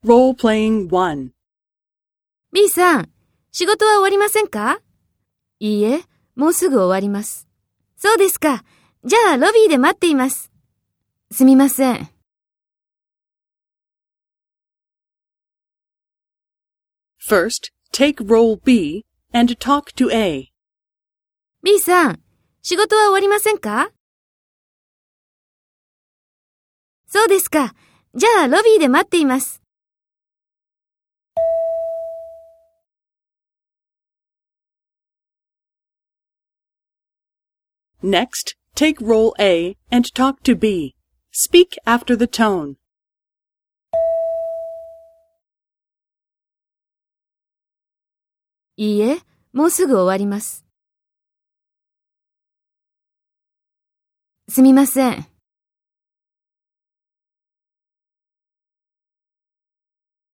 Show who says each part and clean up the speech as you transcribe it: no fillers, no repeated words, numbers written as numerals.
Speaker 1: Role-playing 1.
Speaker 2: B さん、仕事は終わりませんか？いいえ、もうすぐ終わります。そうですか。じゃあロビーで待っています。すみません。
Speaker 1: First, take role B and talk to A.
Speaker 2: B さん、仕事は終わりませんか？そうですか。じゃあロビーで待っています。
Speaker 1: Next, take role A and talk to B. Speak after the tone.
Speaker 2: いいえ、もうすぐ終わります。すみません。